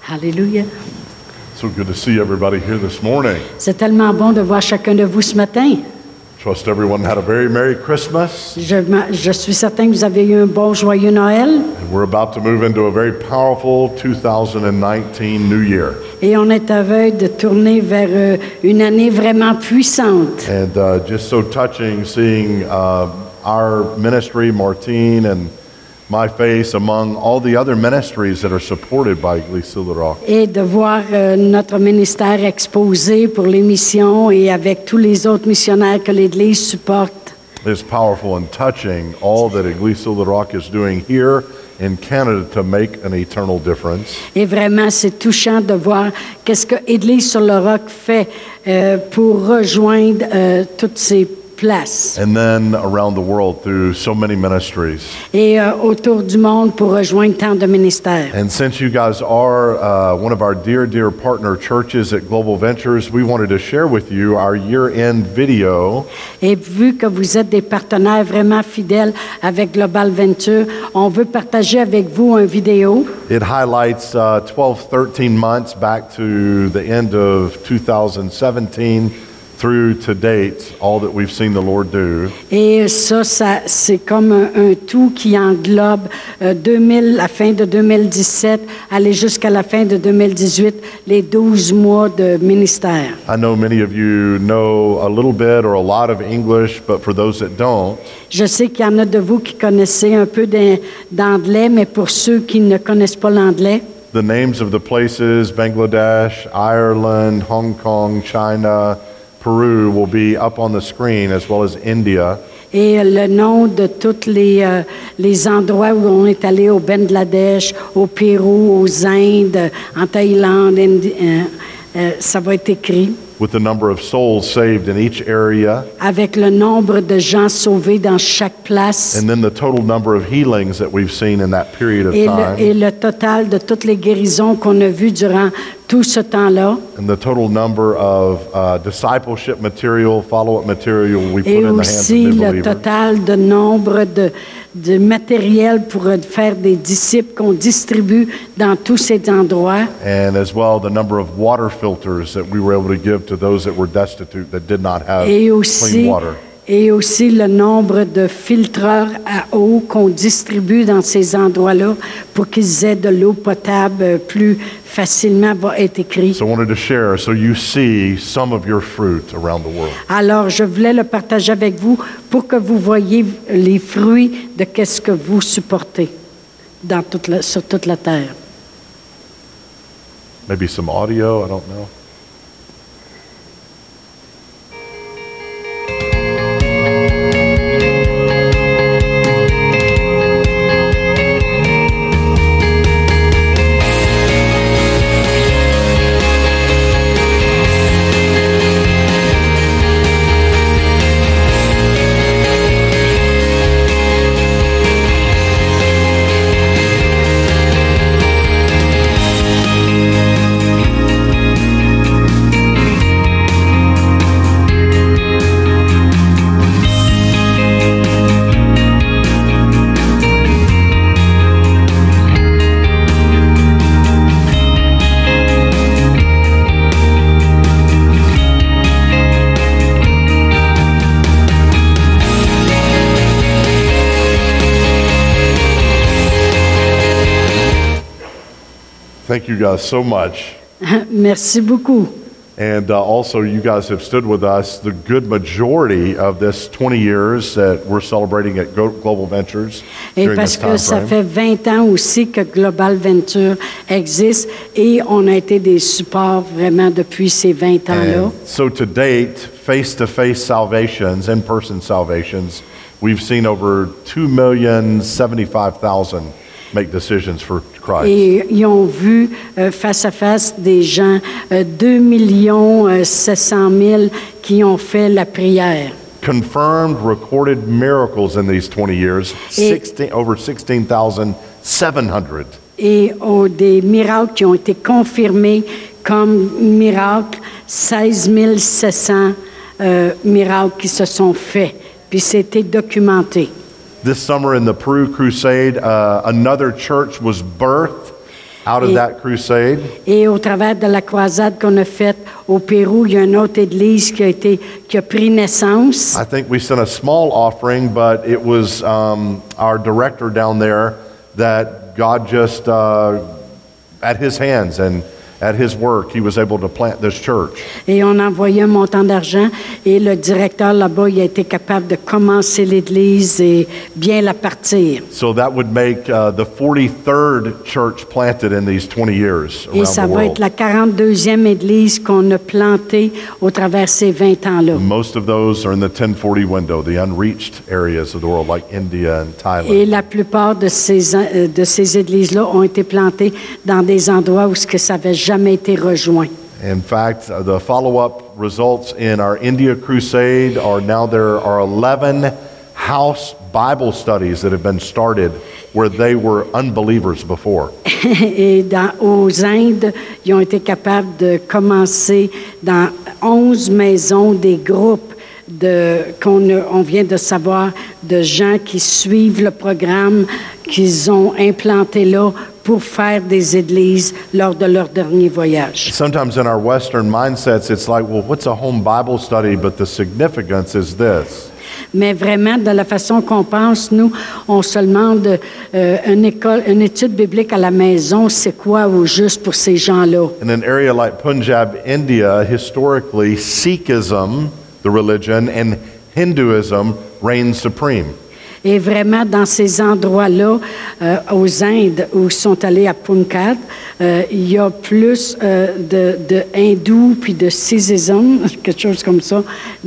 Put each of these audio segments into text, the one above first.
Alléluia. So good to see everybody here this morning. C'est tellement bon de voir chacun de vous ce matin. Trust everyone had a very Merry Christmas. Je suis certain que vous avez eu un bon, joyeux Noël. And we're about to move into a very powerful 2019 New Year. Et on est à veille de tourner vers une année vraiment puissante. And just so touching seeing our ministry, Martine and my face among all the other ministries that are supported by Église sur le Roc. Et de voir notre ministère exposé pour les missions et avec tous les autres missionnaires que l'Église supporte. It's powerful and touching all that Église sur le Roc is doing here in Canada to make an eternal difference. Et vraiment, c'est touchant de voir qu'est-ce que Église sur le Roc fait pour rejoindre toutes ces places. And then around the world through so many ministries. Et autour du monde pour rejoindre tant de ministères. And since you guys are one of our dear partner churches at Global Ventures, we wanted to share with you our year-end video. Et vu que vous êtes des partenaires vraiment fidèles avec Global Venture, on veut partager avec vous un vidéo. It highlights 12-13 months back to the end of 2017 through to date, all that we've seen the Lord do. Et ça c'est comme un tout qui englobe la fin de 2017, aller jusqu'à la fin de 2018, les 12 mois de ministère. I know many of you know a little bit or a lot of English, but for those that don't, Je sais qu'il y en a de vous qui connaissez un peu d'anglais, mais pour ceux qui ne connaissent pas l'anglais, the names of the places, Bangladesh, Ireland, Hong Kong, China, Peru will be up on the screen, as well as India. et le nom de tous les endroits où on est allé au Bangladesh, au Pérou, aux Indes, en Thaïlande, ça va être écrit. With the number of souls saved in each area, Avec le nombre de gens sauvés dans chaque place. and then the total number of healings that we've seen in that period of Et time, le total de toutes les guérisons qu'on a vues durant tout ce temps-là. and the total number of discipleship material, follow-up material we put Et in the hands of aussi new le believers. total de nombre de matériel pour faire des disciples qu'on distribue dans tous ces endroits. And as well, the number of water filters that we were able to give to those that were destitute, that did not have Et clean aussi, water. et aussi le nombre de filtreurs à eau qu'on distribue dans ces endroits-là pour qu'ils aient de l'eau potable plus facilement, va être écrit. So I wanted to share so you see some of your fruit around the world. Alors, je voulais le partager avec vous pour que vous voyiez les fruits de qu'est-ce que vous supportez sur toute la terre. Maybe some audio, I don't know. Thank you guys so much. Merci beaucoup. And also, you guys have stood with us the good majority of this 20 years that we're celebrating at Global Ventures Et during parce this que time ça frame. fait 20 ans aussi que Global Venture existe et on a été des supports vraiment depuis ces 20 ans-là. And so to date, face-to-face salvations, in-person salvations, we've seen over 2,075,000 make decisions for Christ. Et ils ont vu face à face des gens, 2 700 000 qui ont fait la prière. Confirmed recorded miracles in these 20 years, over 16,700. Et des miracles qui ont été confirmés comme miracles, 16 700 miracles qui se sont faits. Puis c'était documenté. This summer in the Peru Crusade, another church was birthed. Out of that crusade, Et au travers de la croisade qu'on a faite au Pérou, il y a une autre église qui a pris naissance. I think we sent a small offering, but it was our director down there that God just, at his hands and at his work, he was able to plant this church. Et on a envoyé un montant d'argent et le directeur là-bas, il a été capable de commencer l'église et bien la partir. So that would make the 43rd church planted in these 20 years Et around ça the va être world. la 42e église qu'on a plantée au travers ces 20 ans-là. Most of those are in the 1040 window, the unreached areas of the world like India and Et Thailand. la plupart de ces églises-là ont été plantées dans des endroits où ça n'avait jamais été rejoint. In fact, the follow-up results in our India crusade are now there are 11 house Bible studies that have been started where they were unbelievers before. Et aux Indes, ils ont été capables de commencer dans 11 maisons des groupes on vient de savoir de gens qui suivent le programme qu'ils ont implanté là pour faire des églises lors de leur dernier voyage. Sometimes in our Western mindsets, it's like, well, what's a home Bible study? But the significance is this. Mais vraiment, de la façon qu'on pense, nous, on se demande une étude biblique à la maison, c'est quoi au juste pour ces gens-là? In an area like Punjab, India, historically, Sikhism, the religion, and Hinduism reign supreme. Et vraiment, dans ces endroits-là, aux Indes, où ils sont allés à Punjab, il y a plus de hindous puis de sikhisme, quelque chose comme ça,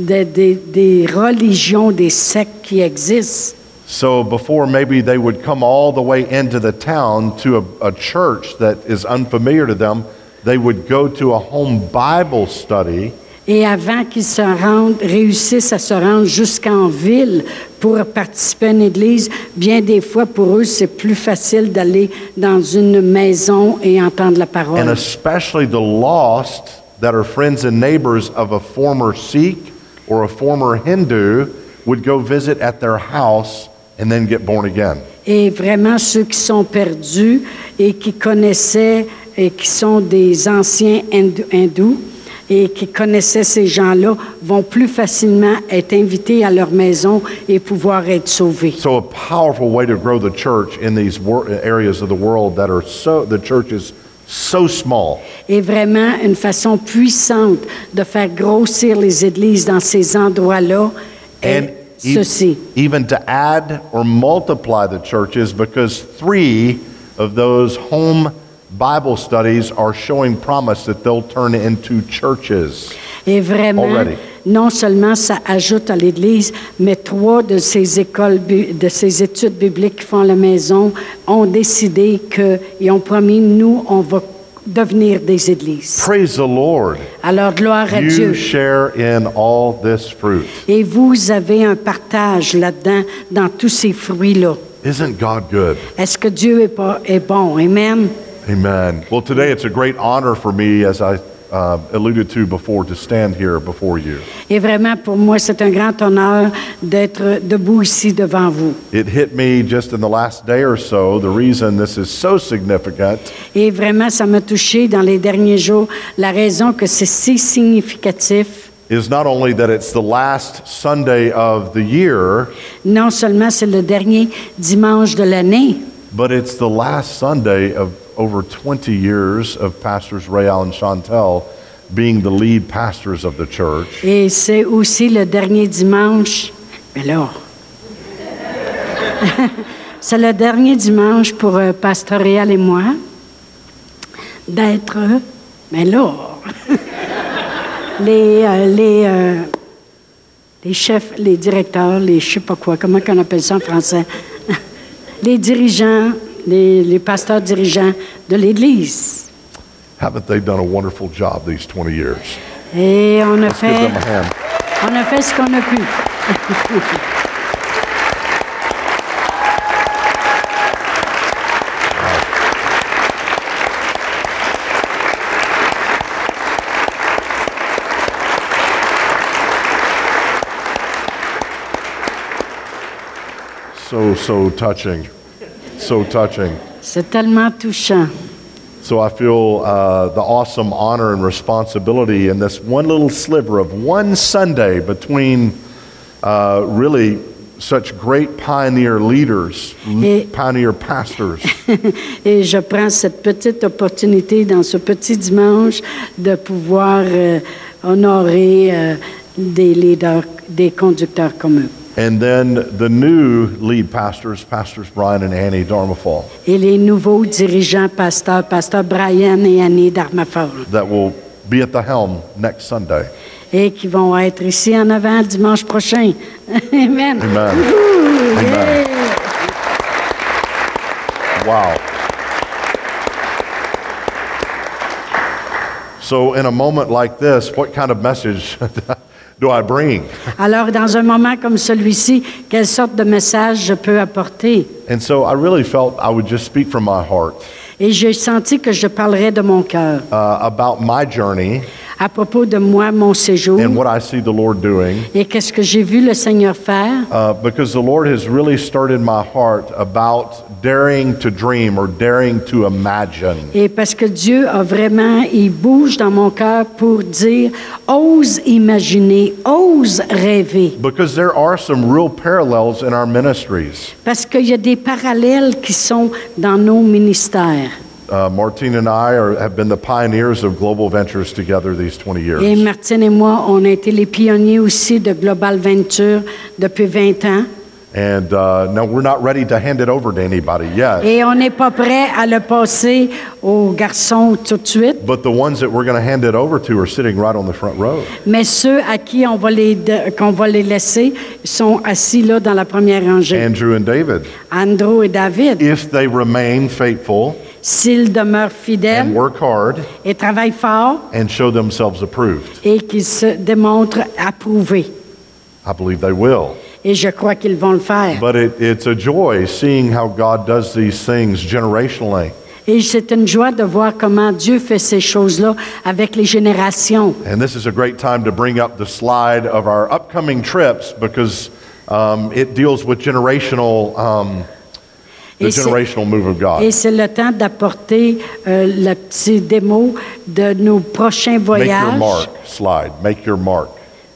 des religions, des sectes qui existent. So before maybe they would come all the way into the town to a church that is unfamiliar to them, they would go to a home Bible study. Et avant qu'ils réussissent à se rendre jusqu'en ville pour participer à une église, bien des fois, pour eux, c'est plus facile d'aller dans une maison et entendre la parole. And especially the lost that are friends and neighbors of a former Sikh or a former Hindu would go visit at their house and then get born again. Et vraiment, ceux qui sont perdus et qui connaissaient et qui sont des anciens hindous, et qui connaissaient ces gens-là vont plus facilement être invités à leur maison et pouvoir être sauvés. So a powerful way to grow the church in these areas of the world that are the church is so small. Et vraiment une façon puissante de faire grossir les églises dans ces endroits-là est ceci. Even to add or multiply the churches, because 3 of those home Bible studies are showing promise that they'll turn into churches. Et vraiment, already. Non seulement ça ajoute à l'Église, mais 3 de ces études bibliques qui font à la maison ont décidé et ont promis, nous, on va devenir des églises. Praise the Lord. Alors, gloire à You Dieu. share in all this fruit. Et vous avez un partage là-dedans, dans tous ces fruits-là. Isn't God good? Est-ce que Dieu est bon? Amen. Amen. Well, today it's a great honor for me, as I alluded to before, to stand here before you. Et vraiment, pour moi, c'est un grand honneur d'être debout ici devant vous. It hit me just in the last day or so, the reason this is so significant Et vraiment, ça m'a touché dans les derniers jours. La raison que c'est si significatif, is not only that it's the last Sunday of the year, non seulement c'est le dernier dimanche de l'année, but it's the last Sunday of over 20 years of Pastors Rael and Chantel being the lead pastors of the church. et c'est aussi le dernier dimanche. Mais là, c'est le dernier dimanche pour Pasteur Réal et moi d'être. Mais là, les chefs, les directeurs, je sais pas quoi, comment on appelle ça en français, les dirigeants. Les pasteurs dirigeants de l'Église. Haven't they done a wonderful job these 20 years? Et on a Let's give them a hand. fait ce qu'on a pu. So touching. So touching. C'est tellement touchant. So I feel the awesome honor and responsibility in this one little sliver of one Sunday between really such great pioneer leaders, pioneer pastors. Et je prends cette petite opportunité dans ce petit dimanche de pouvoir honorer des leaders, des conducteurs comme eux. And then the new lead pastors, Pastors Brian and Annie Darmafal, Et les nouveaux dirigeants pasteurs, Pasteur Brian et Annie Darmafal, that will be at the helm next Sunday. et qui vont être ici en avant dimanche prochain. Amen. Amen. Ouh, Amen. yeah. Wow. So in a moment like this, what kind of message do I bring? Alors, dans un moment comme celui-ci, quelle sorte de message je peux apporter? And so I really felt I would just speak from my heart Et j'ai senti que je parlerais de mon cœur about my journey à propos de moi, mon séjour, and what I see the Lord doing, et qu'est-ce que j'ai vu le Seigneur faire. because the Lord has really stirred in my heart about daring to dream or daring to imagine. Et parce que Dieu a vraiment, il bouge dans mon cœur pour dire, ose imaginer, ose rêver. Because there are some real parallels in our ministries. Parce qu'il y a des parallèles qui sont dans nos ministères. Martine and I have been the pioneers of Global Ventures together these 20 years. Et Martine et moi, on a été les pionniers aussi de Global Venture depuis 20 ans. And no, we're not ready to hand it over to anybody yet. Et on n'est pas prêt à le passer aux garçons tout de suite. But the ones that we're going to hand it over to are sitting right on the front row. Mais ceux à qui qu'on va les laisser sont assis là dans la première rangée. Andrew and David. Andrew et David, If they remain faithful s'ils demeurent and fidèles work hard et travaillent fort and show themselves approved, et qu'ils se démontrent approuvés. I believe they will. Et je crois qu'ils vont le faire. But it's a joy seeing how God does these things generationally. Et c'est une joie de voir comment Dieu fait ces choses-là avec les générations. And this is a great time to bring up the slide of our upcoming trips because it deals with the generational move of God. Et c'est le temps d'apporter le petit démo de nos prochains voyages. Make your mark slide. Make your mark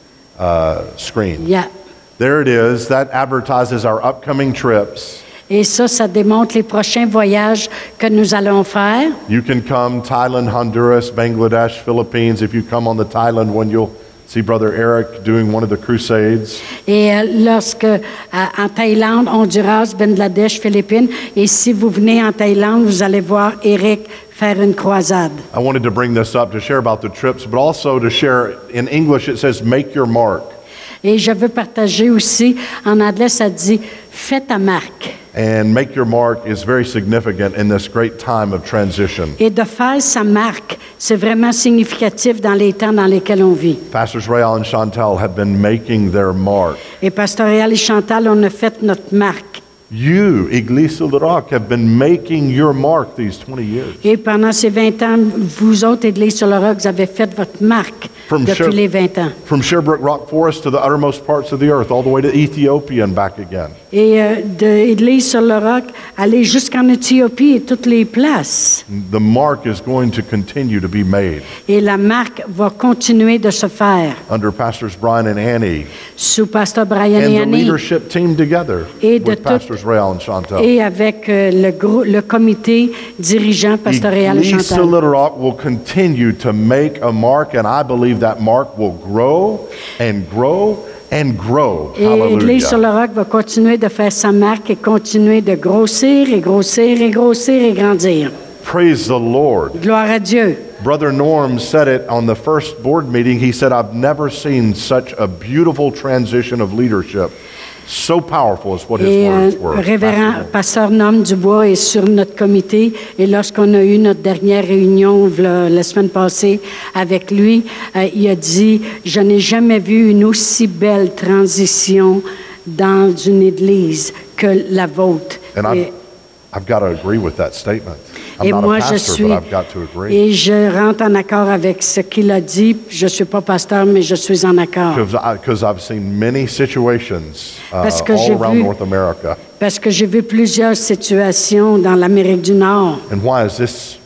screen. Yeah. There it is. That advertises our upcoming trips. Et ça démontre les prochains voyages que nous allons faire. You can come Thailand, Honduras, Bangladesh, Philippines. If you come on the Thailand one, you'll see Brother Eric doing one of the crusades. Et lorsque en Thaïlande, Honduras, Bangladesh, Philippines, et si vous venez en Thaïlande, vous allez voir Eric faire une croisade. I wanted to bring this up to share about the trips, but also to share in English it says make your mark. Et je veux partager aussi, en anglais, ça dit « Fais ta marque ». And make your mark is very significant in this great time of transition. Et de faire sa marque, c'est vraiment significatif dans les temps dans lesquels on vit. Pastors Rael and Chantal have been making their mark. Et Pasteur Réal et Chantal, on a fait notre marque. You, Iglesia Le Roc, have been making your mark these 20 years. Et pendant ces 20 ans, vous autres, Église sur le Roc, vous avez fait votre marque depuis les 20 ans. From Sherbrooke Rock Forest to the uttermost parts of the earth, all the way to Ethiopia and back again. Et de Église sur le Roc, aller jusqu'en Éthiopie et toutes les places. The mark is going to continue to be made. Et la marque va continuer de se faire. Under Pastors Brian and Annie. Sous Pasteur Brian and et the Annie. Leadership team together Et de with Pastors Rael and Chantal. Et avec le comité dirigeant pastoral et Iglesia Chantal. Little Rock will continue to make a mark, and I believe that mark will grow and grow and grow. Et l'Église sur le Roc va continuer de faire sa marque et continuer de grossir et grossir et grossir et grandir. Praise the Lord. Gloire à Dieu. Brother Norm said it on the first board meeting. He said, I've never seen such a beautiful transition of leadership. So powerful is what his Et words were. Révérend Pasteur Norm Dubois est sur notre comité. Et lorsqu'on a eu notre dernière réunion la semaine passée avec lui, il a dit, je n'ai jamais vu une aussi belle transition dans une église que la vôtre. And I've got to agree with that statement. I'm Et not moi, a pastor, but I've got to agree. Et je rentre en accord avec ce qu'il a dit. Je ne suis pas pasteur, mais je suis en accord. Because I've seen many situations all around North America. Parce que j'ai vu plusieurs situations dans l'Amérique du Nord. And why is this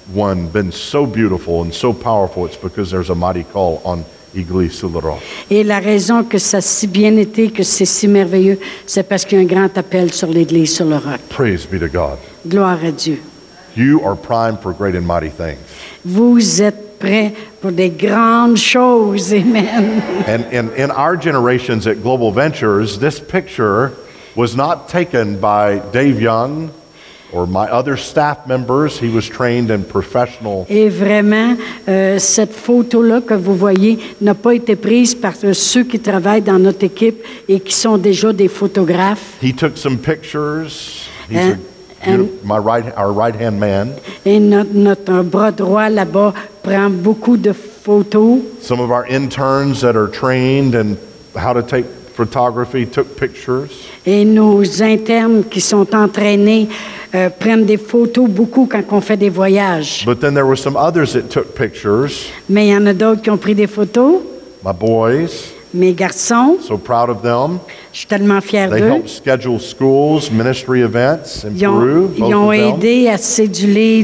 one been so beautiful and so powerful, it's because there's a mighty call on Église sur le roc. Et la raison que ça a si bien été, que c'est si merveilleux, c'est parce qu'il y a un grand appel sur l'Église sur le roc. Praise be to God. Gloire à Dieu. You are primed for great and mighty things. Vous êtes prêts pour des grandes choses. Amen. And in our generations at Global Ventures, this picture was not taken by Dave Young or my other staff members. He was trained in professional. Et vraiment, cette photo-là que vous voyez n'a pas été prise par ceux qui travaillent dans notre équipe et qui sont déjà des photographes. He took some pictures. He's And- our right-hand man. Et notre bras droit là-bas prend beaucoup de photos. Some of our interns that are trained in how to take photography took pictures. Et nos internes qui sont entraînés prennent des photos beaucoup quand on fait des voyages. But then there were some others that took pictures. Mais il y en a d'autres qui ont pris des photos. My boys, Mes garçons, so proud of them. je suis tellement fière They d'eux. helped schedule schools, ministry events in Ils ont, Peru, both ils ont of them. aidé à céduler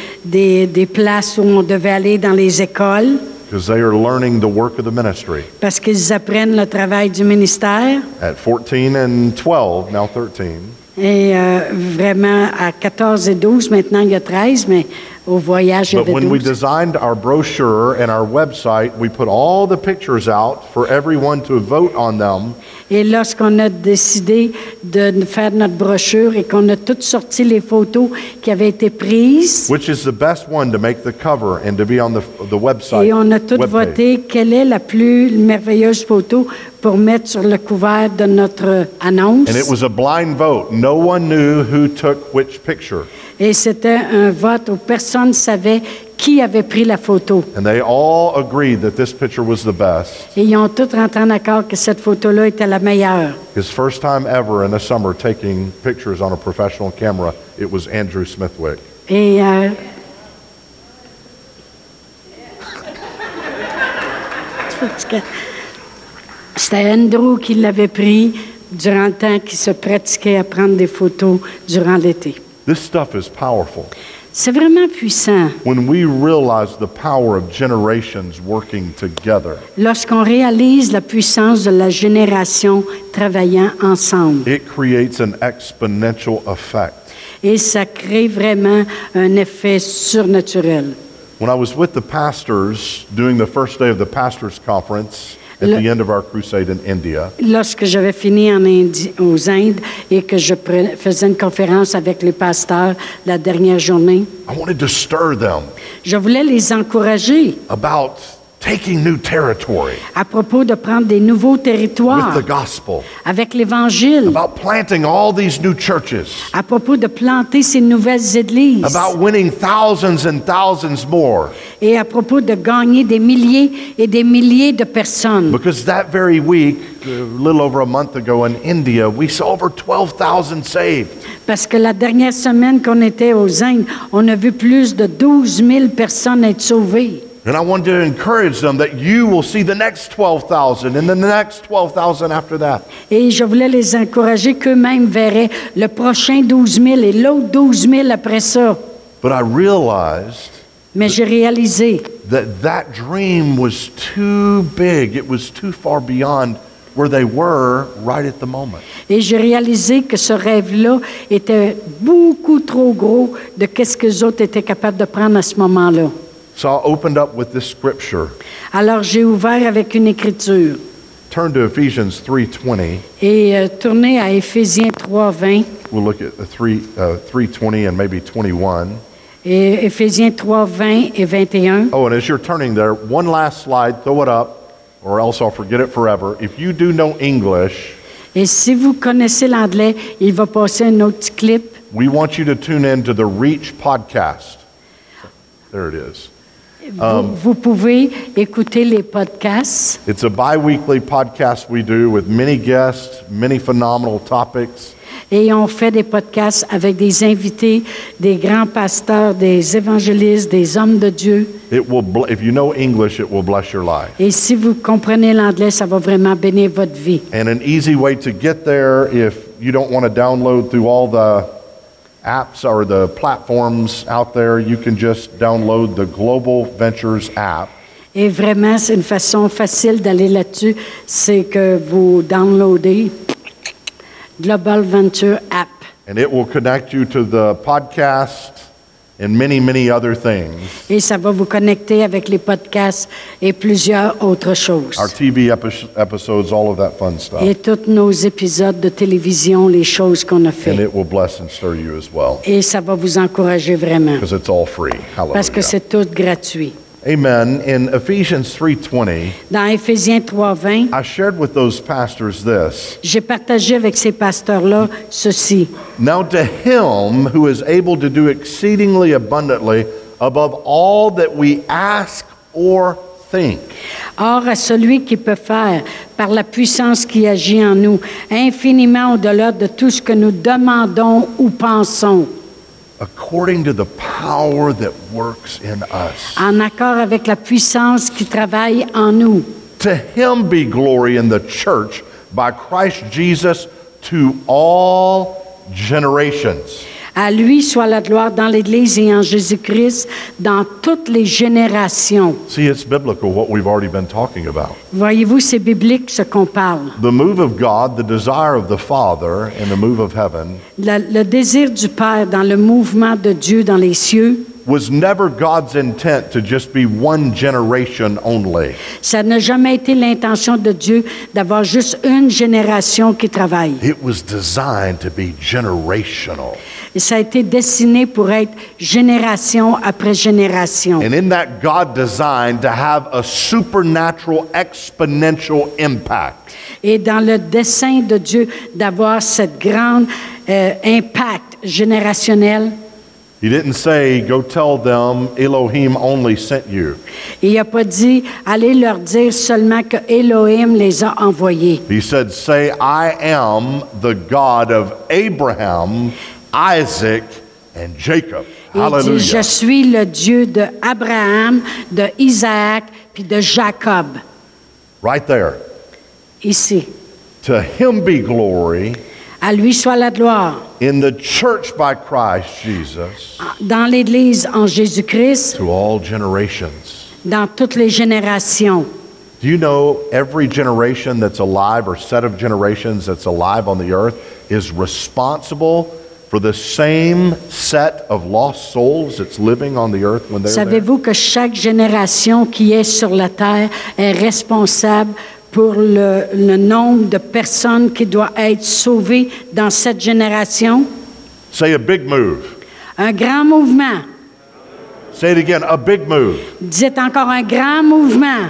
des places où on devait aller dans les écoles Because they are learning the work of the ministry. parce qu'ils apprennent le travail du ministère. At 14 and 12, now 13, Et vraiment, à 14 et 12, maintenant il y a 13, mais au voyage, il y but avait when we 12. designed our brochure and our website, we put all the pictures out for everyone to vote on them. Et lorsqu'on a décidé de faire notre brochure et qu'on a toutes sorti les photos qui avaient été prises, Which is the best one to make the cover and to be on the website? et on a toutes webpage? voté quelle est la plus merveilleuse photo pour mettre sur le couvert de notre annonce. And it was a blind vote. No one knew who took which picture. Et c'était un vote où personne ne savait qui avait pris la photo. And they all agreed that this picture was the best. Et ils ont tous rentré en accord que cette photo-là était la meilleure. His first time ever in the summer taking pictures on a professional camera, it was Andrew Smithwick. Et c'était Andrew qui l'avait pris durant le temps qu'il se pratiquait à prendre des photos durant l'été. This stuff is powerful. C'est vraiment puissant. When we realize the power of generations working together, Lorsqu'on réalise la puissance de la génération travaillant ensemble. it creates an exponential effect. Et ça crée vraiment un effet surnaturel. When I was with the pastors doing the first day of the pastors' conference at Le- the end of our crusade in India, Lorsque j'avais fini aux Indes et que je faisais une conférence avec les pasteurs la dernière journée, I wanted to stir them je voulais les encourager about taking new territory à propos de prendre des nouveaux with territoires the gospel, avec l'Évangile, about planting all these new churches, à propos de planter ces nouvelles églises about winning thousands and thousands more. et à propos de gagner des milliers et des milliers de personnes. Because that very week, a little over a month ago in India, we saw over 12,000 saved. Parce que la dernière semaine qu'on était aux Indes, on a vu plus de 12 000 personnes être sauvées. And I wanted to encourage them that you will see the next 12,000 and then the next 12,000 after that. Et je voulais les encourager qu'eux-mêmes verraient le prochain 12 000 et l'autre 12 000 après ça. But I realized Mais j'ai réalisé that dream was too big. It was too far beyond where they were right at the moment. et j'ai réalisé que ce rêve-là était beaucoup trop gros de qu'est-ce que les autres étaient capables de prendre à ce moment-là. So I opened up with this scripture. Alors j'ai ouvert avec une écriture Turn to Ephesians 3:20. et tourné à Éphésiens 3:20 We'll look at the 3:20 and maybe 21. et Éphésiens 3:20 et 21. Oh, and as you're turning there, one last slide, throw it up, or else I'll forget it forever. If you do know English, Et si vous connaissez l'anglais, il va passer un autre petit clip. we want you to tune in to the Reach podcast. There it is. Vous pouvez écouter les podcasts. It's a bi-weekly podcast we do with many guests, many phenomenal topics. Et on fait des podcasts avec des invités, des grands pasteurs, des évangélistes, des hommes de Dieu. It will, if you know English, it will bless your life. Et si vous comprenez l'anglais, ça va vraiment bénir votre vie. And an easy way to get there, if you don't want to download through all the apps or the platforms out there, you can just download the Global Ventures app. Et vraiment, c'est une façon facile d'aller là-dessus. C'est que vous downloadez Global Venture App. And it will connect you to the podcast and many, many other things. Et ça va vous connecter avec les podcasts et plusieurs autres choses. Our TV episodes, all of that fun stuff. Et tous nos épisodes de télévision, les choses qu'on a And fait. it will bless and stir you as well. Et ça va vous encourager vraiment. Because it's all free. Parce que Hallelujah. c'est tout gratuit. Amen. In Ephesians 3:20, Dans Éphésiens 3:20, I shared with those pastors this. j'ai partagé avec ces pasteurs-là ceci. Now to him who is able to do exceedingly abundantly above all that we ask or think. Or, à celui qui peut faire, par la puissance qui agit en nous, infiniment au-delà de tout ce que nous demandons ou pensons, According to the power that works in us. en accord avec la puissance qui travaille en nous. To him be glory in the church by Christ Jesus to all generations. À lui soit la gloire dans l'Église et en Jésus-Christ dans toutes les générations. See, it's biblical what we've already been talking about. Voyez-vous, c'est biblique ce qu'on parle. The move of God, the desire of the Father, and the move of heaven Le désir du Père dans le mouvement de Dieu dans les cieux, was never God's intent to just be one generation only. ça n'a jamais été l'intention de Dieu d'avoir juste une génération qui travaille. It was designed to be generational. Et ça a été destiné pour être génération après génération. And in that, God designed to have a supernatural, exponential impact. Et dans le dessein de Dieu d'avoir cette grande impact générationnel, He didn't say, go tell them Elohim only sent you. il n'a pas dit « Allez leur dire seulement que Elohim les a envoyés He said, say, I am the God of Abraham, Isaac, and Jacob. ». Il dit « Hallelujah. Je suis le Dieu de Abraham, de Isaac, puis de Jacob. Right there. » Ici. To him be glory À lui soit la gloire. in the church by Christ Jesus Dans l'Église en Jésus-Christ, to all generations. dans toutes les générations. Do you know every generation that's alive or set of generations that's alive on the earth is responsible for the same set of lost souls that's living on the earth when they're there? Savez-vous que chaque génération qui est sur la terre est responsable pour le nombre de personnes qui doivent être sauvées dans cette génération? Say a big move. Un grand mouvement. Say it again, a big move. Dites encore un grand mouvement.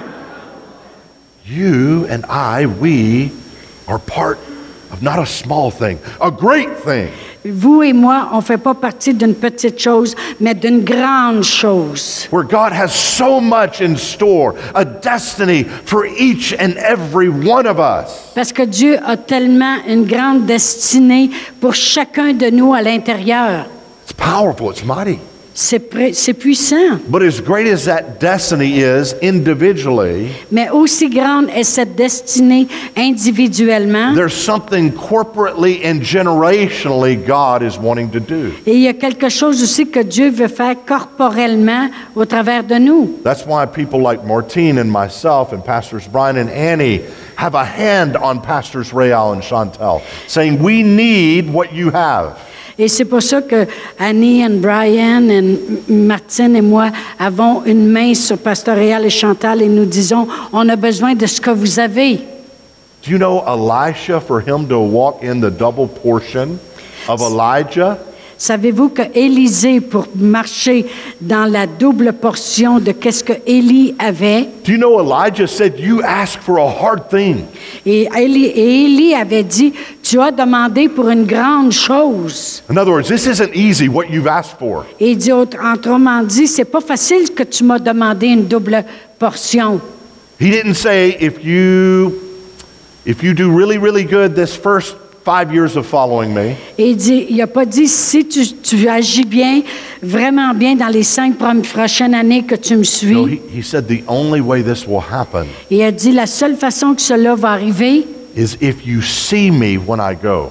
You and I, we are part of not a small thing, a great thing. Vous et moi, on ne fait pas partie d'une petite chose, mais d'une grande chose. Where God has so much in store, a destiny for each and every one of us. Parce que Dieu a tellement une grande destinée pour chacun de nous à l'intérieur. It's powerful, it's mighty. C'est puissant. But as great as that destiny is individually, Mais aussi grande est cette destinée individuellement. there's something corporately and generationally God is wanting to do. Et il y a quelque chose aussi que Dieu veut faire corporellement au travers de nous. That's why people like Martine and myself and Pastors Brian and Annie have a hand on Pastors Real and Chantel, saying, we need what you have. Et c'est pour ça que Annie et Brian et Martine et moi avons une main sur Pasteur Réal et Chantal et nous disons, on a besoin de ce que vous avez. Do you know Elisha, for him to walk in the double portion of Elijah? Savez-vous que Élisée, pour marcher dans la double portion de qu'est-ce que Élie avait, Do you know Elijah said, you ask for a hard thing. et Élie avait dit, tu as demandé pour une grande chose. In other words, this isn't easy what you've asked for. Et il dit, autrement dit, c'est pas facile que tu m'as demandé une double portion. He didn't say, if you do really, really good this first 5 years of following me, Et il n'a pas dit, si tu agis bien, vraiment bien dans les 5 prochaines années que tu me suis. no, he said the only way this will happen Et il a dit, la seule façon que cela va arriver, is if you see me when I go.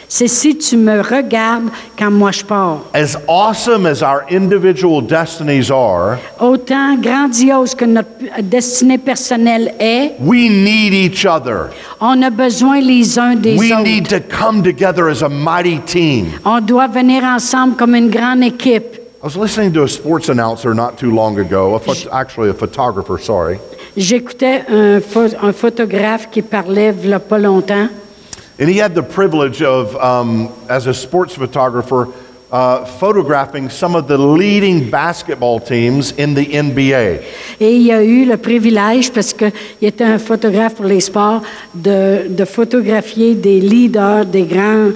C'est si tu me regardes quand moi je pars. As awesome as our individual destinies are, Autant grandiose que notre destinée personnelle est, we need each other. on a besoin les uns des We autres. need to come together as a mighty team. On doit venir ensemble comme une grande équipe. I was listening to a sports announcer not too long ago, actually a photographer, sorry. J'écoutais un photographe qui parlait il n'y a pas longtemps. And he had the privilege of, as a sports photographer, photographing some of the leading basketball teams in the NBA. Et il a eu le privilège, parce qu'il était un photographe pour les sports, de photographier des leaders, des grands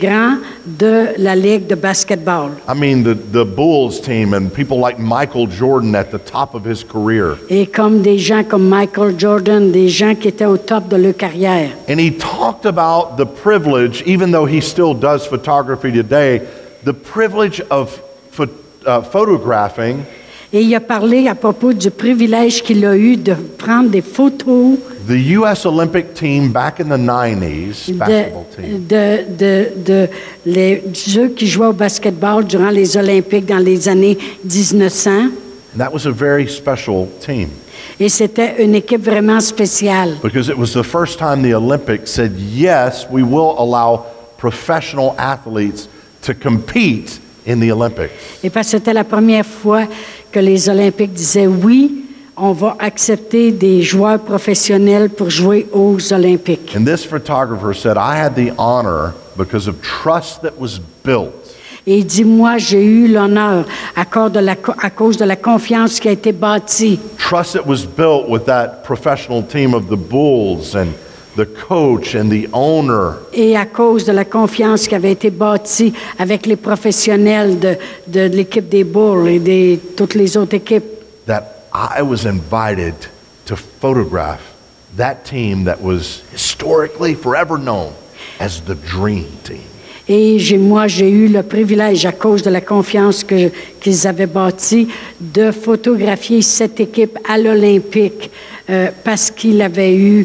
de la Ligue de basketball. I mean, the Bulls team and people like Michael Jordan at the top of his career. Et comme des gens comme Michael Jordan, des gens qui étaient au top de leur carrière. And he talked about the privilege, even though he still does photography today, the privilege of photographing Et il a parlé à propos du privilège qu'il a eu de prendre des photos the U.S. Olympic team back in the 90s, basketball team. ceux qui jouaient au basketball durant les Olympiques dans les années 1900. And that was a very special team Et c'était une équipe vraiment spéciale. because it was the first time the Olympics said, yes, we will allow professional athletes to compete in the Olympics. Et parce que c'était la première fois que les Olympiques disaient oui, on va accepter des joueurs professionnels pour jouer aux Olympiques. And this photographer said, I had the honor because of trust that was built. Et il dit, moi, j'ai eu l'honneur à cause de la confiance qui a été bâtie. Trust that was built with that professional team of the Bulls and the coach and the owner. Et à cause de la confiance qui avait été bâtie avec les professionnels de l'équipe des Bulls et de toutes les autres équipes. That I was invited to photograph that team that was historically forever known as the Dream Team. Et moi, j'ai eu le privilège, à cause de la confiance qu'ils avaient bâtie, de photographier cette équipe à l'Olympique parce qu'il avait eu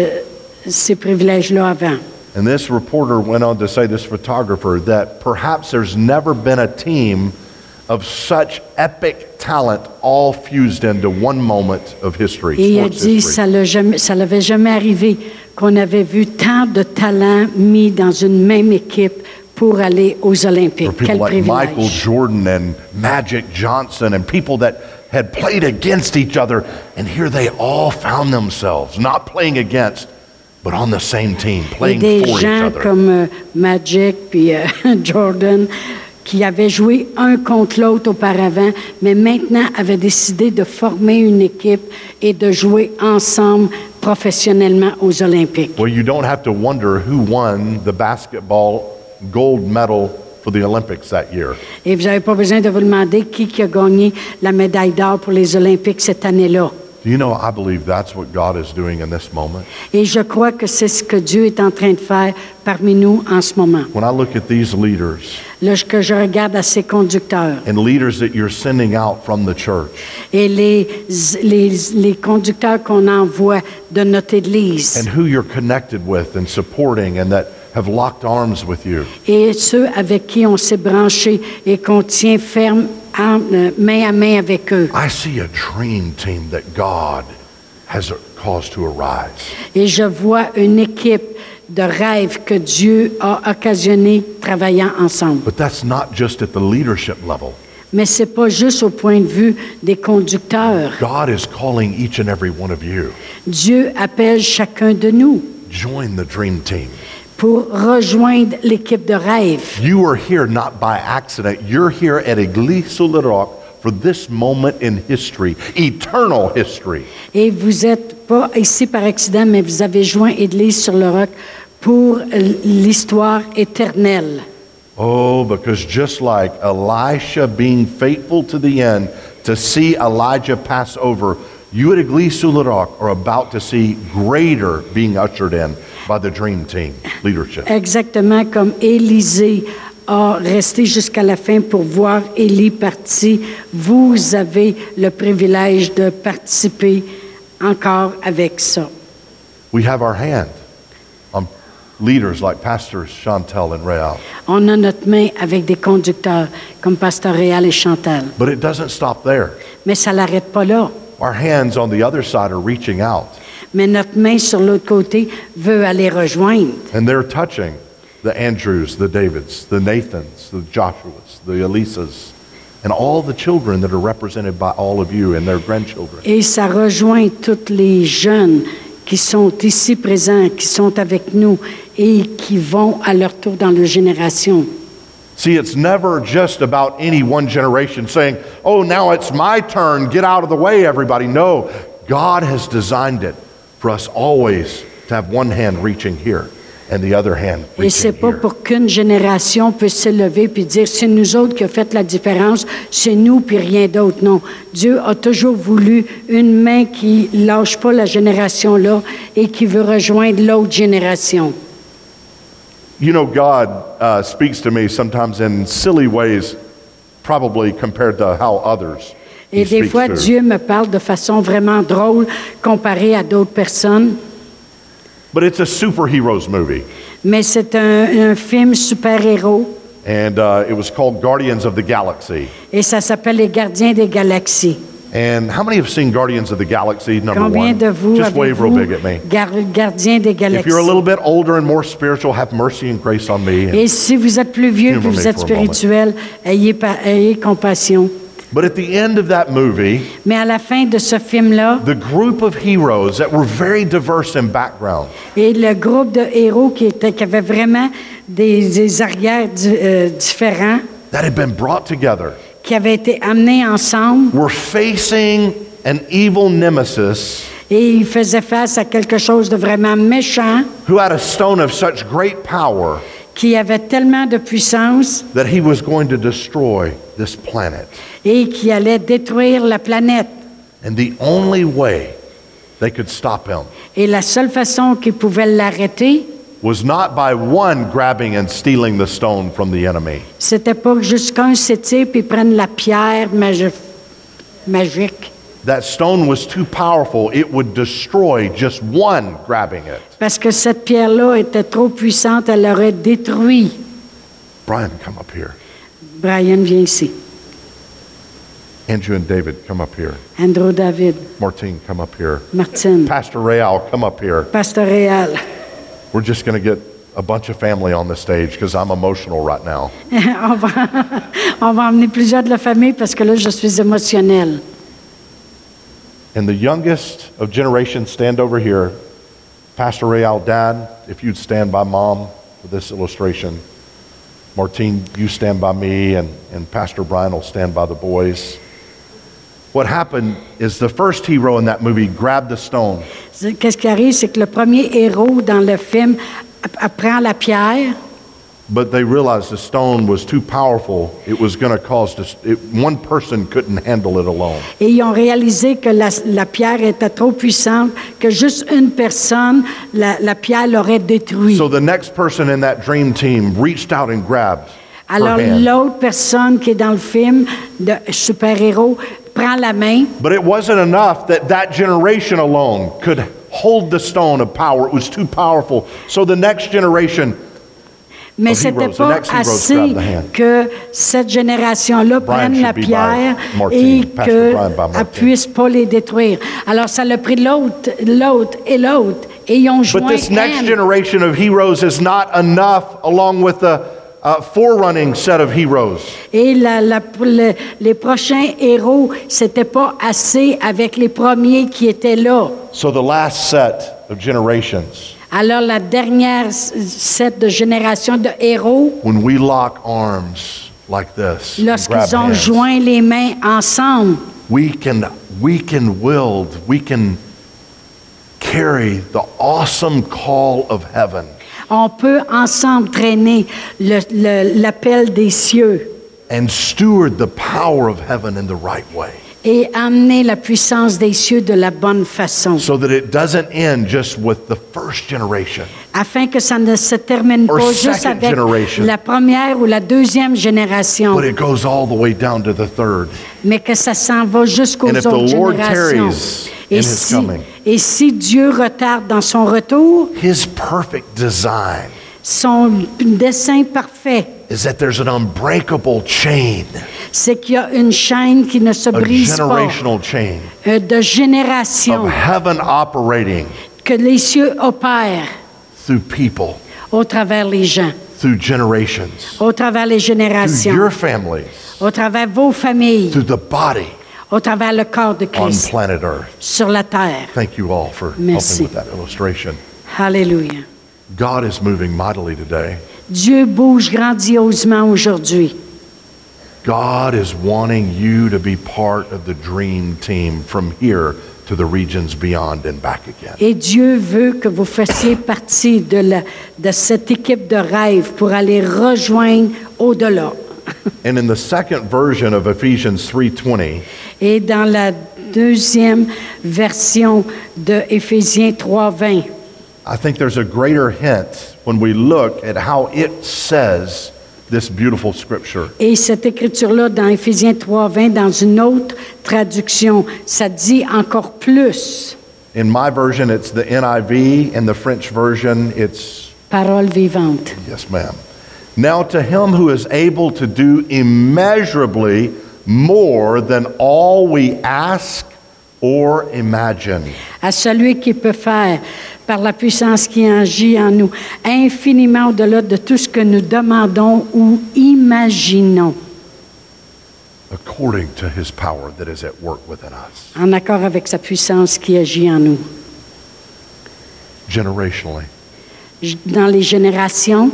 ces privilèges-là avant. And this reporter went on to say, this photographer, that perhaps there's never been a team of such epic talent all fused into one moment of history. Et il a Sports dit, history. ça l'avait jamais arrivé qu'on avait vu tant de talents mis dans une même équipe pour aller aux Olympiques. For people Quel like Michael privilège. Jordan and Magic Johnson and people that had played against each other, and here they all found themselves not playing against, but on the same team, Et playing des for each gens other. comme Magic puis Jordan qui avaient joué un contre l'autre auparavant, mais maintenant avaient décidé de former une équipe et de jouer ensemble professionnellement aux Olympiques. Well, you don't have to wonder who won the basketball gold medal for the Olympics that year. Et vous n'avez pas besoin de vous demander qui a gagné la médaille d'or pour les Olympiques cette année-là. Do you know, I believe that's what God is doing in this moment. Et je crois que c'est ce que Dieu est en train de faire parmi nous en ce moment. When I look at these leaders Que je regarde à ces conducteurs and leaders that you're sending out from the church, et les conducteurs qu'on envoie de notre Église and who you're connected with and supporting and that have locked arms with you, et ceux avec qui on s'est branché et qu'on tient ferme main à main avec eux. I see a dream team that God has caused to arise. Et je vois une équipe de rêve que Dieu a occasionné travaillant ensemble. But that's not just at the leadership level. Mais c'est pas juste au point de vue des conducteurs. God is calling each and every one of you. Dieu appelle chacun de nous Join the dream team. pour rejoindre l'équipe de rêve. You are here not by accident. You're here at Église sur le Roc for this moment in history, eternal history. Et vous n'êtes pas ici par accident, mais vous avez joint Église sur le roc pour l'histoire éternelle. Oh, because just like Elisha being faithful to the end to see Elijah pass over, you at Église sur le Roc are about to see greater being ushered in by the dream team leadership. Exactement comme Élisée a resté jusqu'à la fin pour voir Élie partir, vous avez le privilège de participer encore avec ça. We have our hand on leaders like Pastors Chantel and Real. On a notre main avec des conducteurs comme Pasteur Réal et Chantal. But it doesn't stop there. Mais ça l'arrête pas là. Our hands on the other side are reaching out, Mais notre main sur l'autre côté veut aller rejoindre. and they're touching the Andrews, the Davids, the Nathans, the Joshuas, the Elisas, and all the children that are represented by all of you and their grandchildren. Et ça rejoint tous les jeunes qui sont ici présents, qui sont avec nous et qui vont à leur tour dans leur génération. See, it's never just about any one generation saying, oh, now it's my turn, get out of the way, everybody. No, God has designed it for us always to have one hand reaching here and the other hand Et c'est reaching pas here. pour qu'une génération puisse s'élever puis dire c'est nous autres qui a fait la différence, c'est nous puis rien d'autre. Non, Dieu a toujours voulu une main qui lâche pas la génération là et qui veut rejoindre l'autre génération. You know, God speaks to me sometimes in silly ways, probably compared to how others He Et des speaks fois, to. Dieu me parle de façon vraiment drôle comparé à d'autres personnes. But it's a superheroes movie. Mais c'est un film super-héros And it was called Guardians of the Galaxy. et ça s'appelle Les Gardiens des Galaxies. And how many have seen Guardians of the Galaxy, number Combien one? de vous Just wave real avez-vous big at me. Gardiens des If you're a Galaxies? little bit older and more spiritual, have mercy and grace on me. Et si vous êtes plus vieux et Humor me vous êtes for a moment. spirituel, ayez compassion. But at the end of that movie, Mais à la fin de ce film-là, the group of heroes that were very diverse in background, et le groupe de héros qui avait vraiment des arrières différents, that had been brought together, qui avaient été amenés ensemble, were facing an evil nemesis et ils faisaient face à quelque chose de vraiment méchant, who had a stone of such great power qui avait tellement de puissance that he was going to destroy this planet. et qui allait détruire la planète. And the only way they could stop him Et la seule façon qu'ils pouvaient l'arrêter, was not by one grabbing and stealing the stone from the enemy, c'était pas juste qu'un s'étire puis prenne la pierre magique. That stone was too powerful. It would destroy just one grabbing it. Parce que cette pierre-là était trop puissante, elle aurait détruit. Brian, come up here. Brian, viens ici. Andrew and David, come up here. Andrew David, Martine, come up here. Martine, Pastor Real, come up here. Pasteur Réal. We're just going to get a bunch of family on the stage because I'm emotional right now. on va emmener plusieurs de la famille parce que là, je suis émotionnelle. And the youngest of generations, stand over here. Pastor Real, Dad, if you'd stand by Mom for this illustration. Martine, you stand by me, and Pastor Brian will stand by the boys. What happened is the first hero in that movie grabbed the stone. Qu'est-ce qui arrive, c'est que le premier héros dans le film prend la pierre, But they realized the stone was too powerful. It was going to cause one person couldn't handle it alone. et ils ont réalisé que la pierre était trop puissante, que juste une personne, la pierre l'aurait détruit. So the next person in that dream team reached out and grabbed Alors her hand. l'autre personne qui est dans le film de super-héros prend la main, But it wasn't enough that generation alone could hold the stone of power. It was too powerful. So the next generation mais of c'était heroes, the pas next heroes assez grabbed the hand. que cette génération-là Brian prenne la should be by pierre Martine. et Pastor Brian by qu'elle Martine. puisse pas les détruire. Alors ça l'a pris l'autre et l'autre, et ils ont But joint this next hand. generation of heroes is not enough along with the forerunning set of heroes. Et les prochains héros, c'était pas assez avec les premiers qui étaient là. So the last set of generations, Alors la dernière set de génération de héros, when we lock arms like this, and grab lorsqu'ils ont hands, joint les mains ensemble, we can carry the awesome call of heaven. on peut ensemble traîner l'appel des cieux And steward the power of heaven in the right way. et amener la puissance des cieux de la bonne façon, So that it doesn't end just with the first generation. afin que ça ne se termine Or pas juste second avec generation. la première ou la deuxième génération, But it goes all the way down to the third. mais que ça s'en va jusqu'aux And if the autres Lord générations. tarries in His coming, Et si Dieu retarde dans son retour, His perfect design son dessein parfait, is that there's an unbreakable chain, c'est qu'il y a une chaîne qui ne se a brise pas, generational chain de génération, of heaven operating que les cieux opèrent through people, au travers les gens, through generations, au travers les through générations, your families, au travers vos familles, through the body au travers le corps de on Christ planet Earth. sur la terre. Thank you all for Merci. helping with that illustration. Alléluia. God is moving mightily today. Dieu bouge grandiosement aujourd'hui. God is wanting you to be part of the dream team from here to the regions beyond and back again. Et Dieu veut que vous fassiez partie de cette équipe de rêve pour aller rejoindre au-delà. And in the second version of Ephesians 3:20, Et dans la deuxième version de Éphésiens 3:20, I think there's a greater hint when we look at how it says this beautiful scripture. et cette écriture-là dans Éphésiens 3:20, dans une autre traduction, ça dit encore plus. In my version, it's the NIV. In the French version, it's, Parole vivante. yes, ma'am. Now to him who is able to do immeasurably more than all we ask or imagine. À celui qui peut faire, par la puissance qui agit en nous, infiniment au-delà de tout ce que nous demandons ou imaginons, According to his power that is at work within us. en accord avec sa puissance qui agit en nous. Generationally, Dans les générations,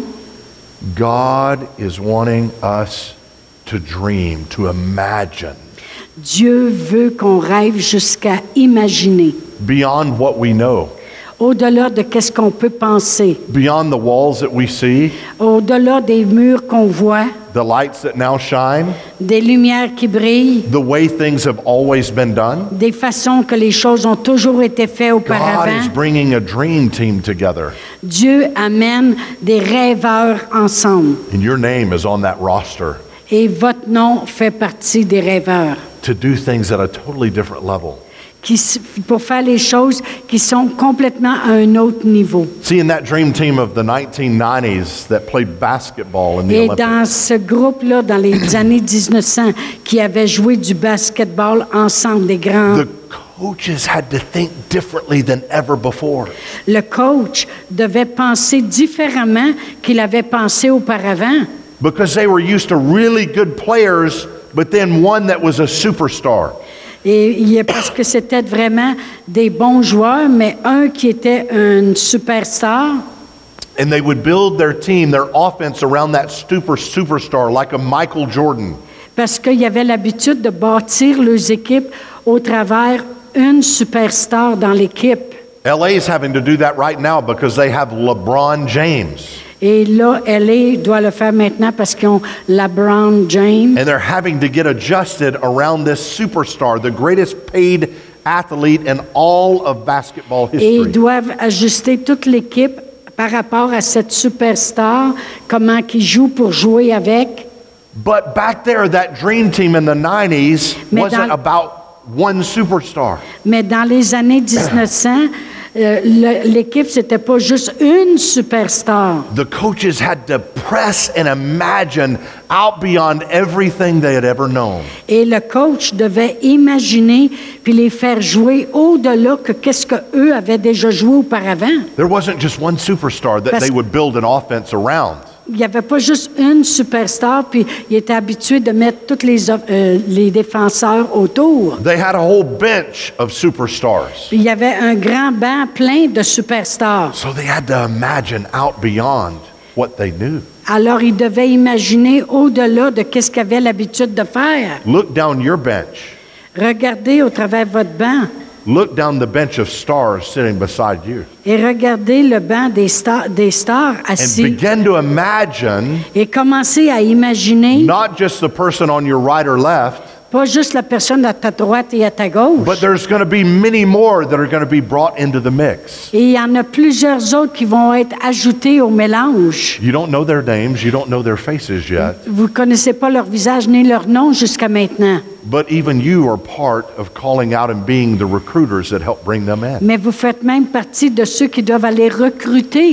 God is wanting us to dream, to imagine Dieu veut qu'on rêve jusqu'à imaginer, beyond what we know, au-delà de qu'est-ce qu'on peut penser, beyond the walls that we see, au-delà des murs qu'on voit, the lights that now shine, des lumières qui brillent, the way things have always been done. des façons que les choses ont toujours été faites God auparavant. is bringing a dream team together, Dieu amène des rêveurs ensemble. and your name is on that roster Et votre nom fait partie des rêveurs, to do things at a totally different level. pour faire les choses qui sont complètement à un autre niveau. See, in that dream team of the 1990s that played basketball in the Et Olympics, dans ce groupe-là, dans les années 1900, qui avait joué du basketball ensemble, des grands, the coaches had to think differently than ever before. le coach devait penser différemment qu'il avait pensé auparavant. Because they were used to really good players, but then one that was a superstar. Parce que c'était vraiment des bons joueurs, mais un qui était une superstar. And they would build their team, their offense around that superstar, like a Michael Jordan. Parce qu'ils avaient l'habitude de bâtir leurs équipes au travers une superstar dans l'équipe. LA is having to do that right now because they have LeBron James. Et là, LA doit le faire maintenant parce qu'ils ont LeBron James. And they're having to get adjusted around this superstar, the greatest paid athlete in all of basketball Et history. ils doivent ajuster toute l'équipe par rapport à cette superstar, comment qu'ils jouent pour jouer avec. But back there, that dream team in the 90s Mais wasn't dans- about one superstar. Mais dans les années 1900, l'équipe, c'était pas juste une superstar. The coaches had to press and imagine out beyond everything they had ever known. Et le coach devait imaginer puis les faire jouer au-delà que qu'est-ce qu'eux avaient déjà joué auparavant. There wasn't just one superstar that Parce- they would build an offense around. Il n'y avait pas juste une superstar, puis il était habitué de mettre tous les défenseurs autour. They had a whole bench of superstars. Puis il y avait un grand banc plein de superstars. So they had to imagine out beyond what they knew. Alors, il devait imaginer au-delà de qu'est-ce qu'il avait l'habitude de faire. Look down your bench. Regardez au travers de votre banc Look down the bench of stars sitting beside you. et regardez le banc des stars And assis begin to imagine et commencez à imaginer not just the person on your right or left, pas juste la personne à ta droite et à ta gauche. but there's going to be many more that are going to be brought into the mix. Et il y en a plusieurs autres qui vont être ajoutés au mélange. You don't know their names, you don't know their faces yet, Vous ne connaissez pas leur visage ni leur nom jusqu'à maintenant. but even you are part of calling out and being the recruiters that help bring them in. Mais vous faites même partie de ceux qui doivent aller recruter.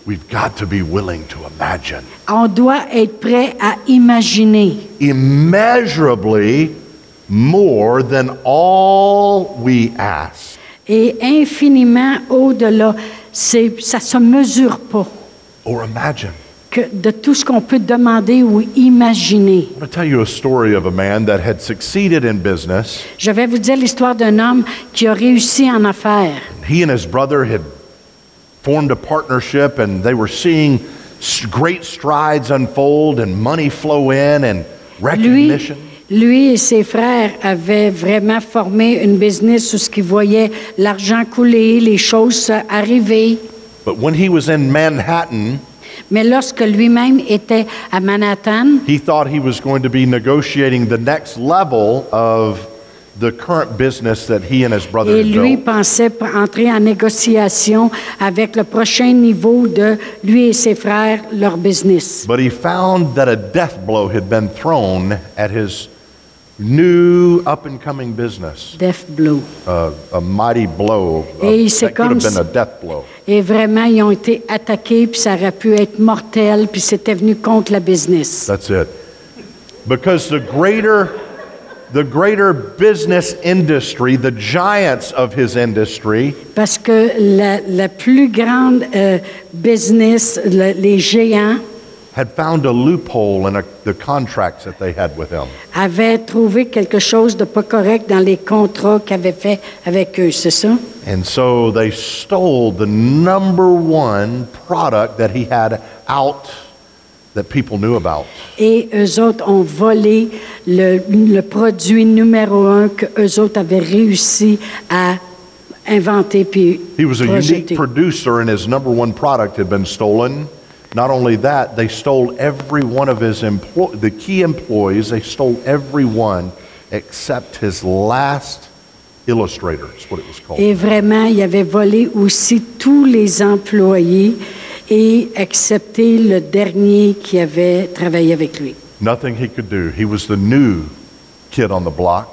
we've got to be willing to imagine. On doit être prêt à imaginer. Immeasurably more than all we ask. Et infiniment au-delà. Ça se mesure pas Or imagine. de tout ce qu'on peut demander ou imaginer. I want to tell you a story of a man that had succeeded in business. Je vais vous dire l'histoire d'un homme qui a réussi en affaires. He and his brother had formed a partnership and they were seeing great strides unfold and money flow in and recognition. Lui et ses frères avaient vraiment formé une business où ce qu'ils voyaient l'argent couler, les choses arriver. But when he was in Manhattan, Mais lorsque lui-même était à Manhattan, he thought he was going to be negotiating the next level of the current business that he and his brother et had lui built. pensait entrer en négociation avec le prochain niveau de lui et ses frères, leur business. But he found that a death blow had been thrown at his new up-and-coming business. Death blow. A mighty blow. Et c'est That could comme have been si- a death blow. Et vraiment, ils ont été attaqués, puis ça aurait pu être mortel, puis c'était venu contre la business. That's it. Because the greater business industry, the giants of his industry, Parce que la plus grande business, les géants, had found a loophole in the contracts that they had with him. avaient trouvé quelque chose de pas correct dans les contrats qu'ils avaient fait avec eux, c'est ça? And so they stole the number one product that he had out that people knew about. Et eux autres ont volé le produit numéro 1 que eux autres avaient réussi à inventer puis He was a unique projeter. producer and his number one product had been stolen. Not only that, they stole every one of his the key employees, they stole every one except his last illustrator, is what it was called. Et vraiment, il avait volé aussi tous les employés et excepté le dernier qui avait travaillé avec lui. Nothing he could do. He was the new kid on the block.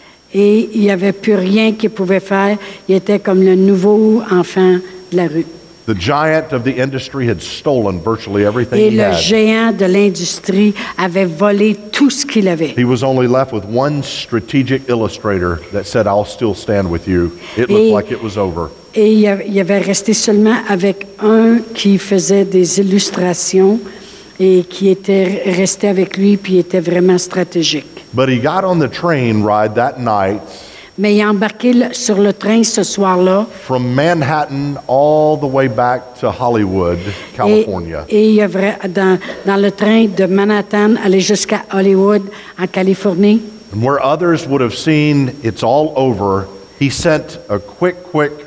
Et il n'y avait plus rien qu'il pouvait faire. Il était comme le nouveau enfant de la rue. The giant of the industry had stolen virtually everything Et he le had. géant de l'industrie avait volé tout ce qu'il avait. He was only left with one strategic illustrator that said, I'll still stand with you. It Et- looked like it was over. Et il avait resté seulement avec un qui faisait des illustrations et qui était resté avec lui, puis était vraiment stratégique. But he got on the train ride that night Mais il a embarqué sur le train ce soir-là. from Manhattan all the way back to Hollywood, California. Et il a dans le train de Manhattan aller jusqu'à Hollywood, en Californie. And where others would have seen it's all over, he sent a quick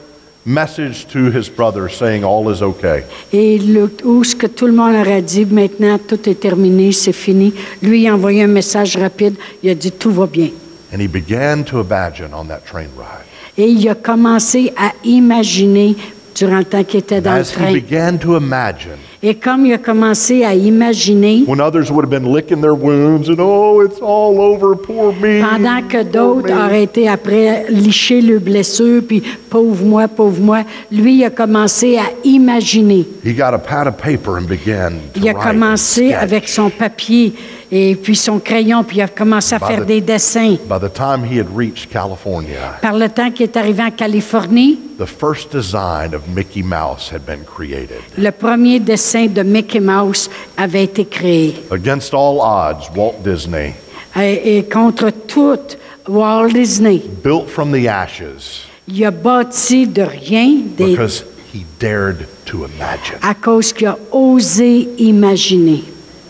message to his brother saying all is okay. Et où ce que tout le monde aurait dit, maintenant tout est terminé, c'est fini. Lui, il a envoyé un message rapide, il a dit tout va bien. And he began to imagine on that train ride. Et il a commencé à imaginer durant le temps qu'il était dans le As he train. began to imagine, Et comme il a commencé à imaginer, when others would have been licking their wounds and, oh, it's all over, poor me. pendant que poor d'autres me." auraient été après licher leurs blessures, puis pauvre moi, lui, il a commencé à imaginer. He got a pad of paper and began to Il a write commencé and sketch. avec son papier et puis son crayon, puis il a commencé à By faire the- des dessins. By the time he had reached California, Par le temps qu'il est arrivé en Californie, the first design of Mickey Mouse had been created. le premier dessin de Mickey Mouse avait été créé. Against all odds, Walt Disney, Et contre tout, Walt Disney, built from the ashes il a bâti de rien because he dared to imagine. à cause qu'il a osé imaginer.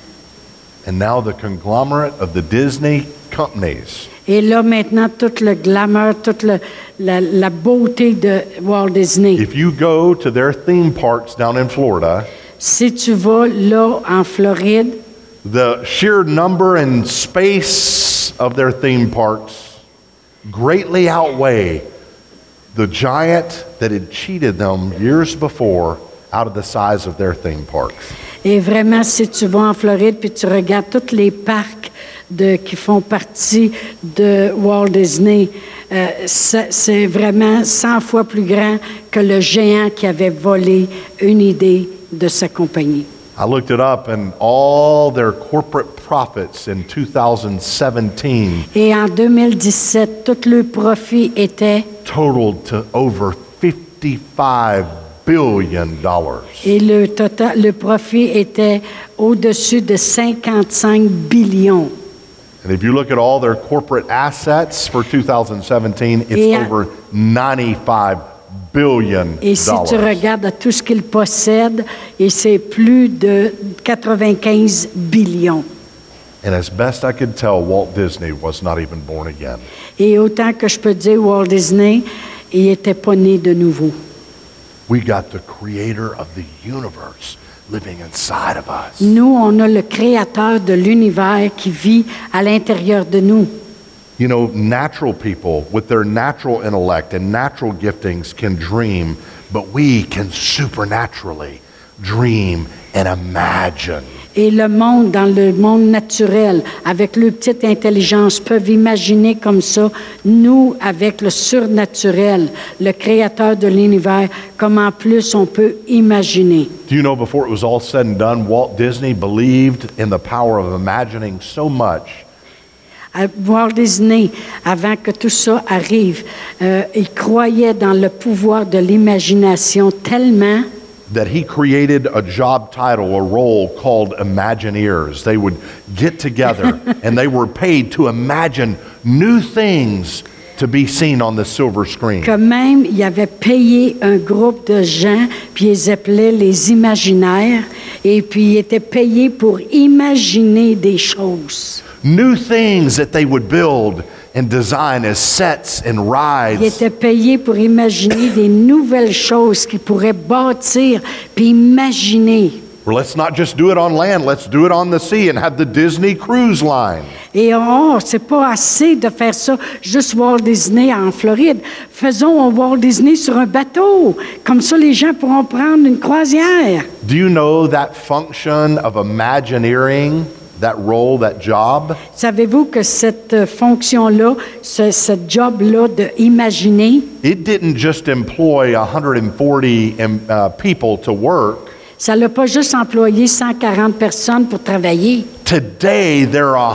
And now the conglomerate of the Disney companies Et là, maintenant, tout le glamour, toute la beauté de Walt Disney. If you go to their theme parks down in Florida, Si tu vas là, en Floride, the sheer number and space of their theme parks greatly outweigh the giant that had cheated them years before out of the size of their theme parks. et vraiment, si tu vas en Floride puis tu regardes tous les parcs qui font partie de Walt Disney, c'est vraiment 100 fois plus grand que le géant qui avait volé une idée de sa compagnie. I looked it up, and all their corporate profits in 2017 Et en 2017, tout le profit était, totaled to over $55 billion. et le profit était au-dessus de 55 billions. And if you look at all their corporate assets for 2017, it's Et- over $95 billion. Et si tu regardes à tout ce qu'ils possèdent, et c'est plus de 95 billions. And as best I could tell, Walt Disney was not even born again. Et autant que je peux dire, Walt Disney, il n'était pas né de nouveau. We got the creator of the universe living inside of us. Nous, on a le créateur de l'univers qui vit à l'intérieur de nous. You know, natural people with their natural intellect and natural giftings can dream, but we can supernaturally dream and imagine. Et le monde, dans le monde naturel, avec leur petite intelligence, peuvent imaginer comme ça, nous, avec le surnaturel, le créateur de l'univers, comme en plus on peut imaginer. Do you know, before it was all said and done, Walt Disney believed in the power of imagining so much Walt Disney, avant que tout ça arrive, il croyait dans le pouvoir de l'imagination tellement that he created a job title, a role called Imagineers. They would get together and they were paid to imagine new things to be seen on the silver screen. que même il avait payé un groupe de gens, puis ils appelaient les imaginaires, et puis ils étaient payés pour imaginer des choses. New things that they would build and design as sets and Ils rides. étaient payés pour imaginer des nouvelles choses qu'ils pourraient bâtir, puis imaginer. Well, let's not just do it on land, let's do it on the sea and have the Disney Cruise Line. Et c'est pas assez de faire ça juste Walt Disney en Floride. Faisons un Walt Disney sur un bateau. Comme ça, les gens pourront prendre une croisière. Do you know that function of Imagineering, that role, that job? Savez-vous que cette fonction-là, ce job-là d'imaginer, It didn't just employ 140 people to work. ça n'a pas juste employé 140 personnes pour travailler. Today, there are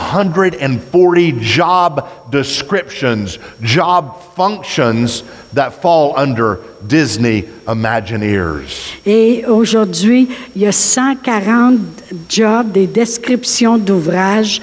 140 job descriptions, job functions that fall under Disney Imagineers. Et aujourd'hui, il y a 140 jobs, des descriptions d'ouvrages,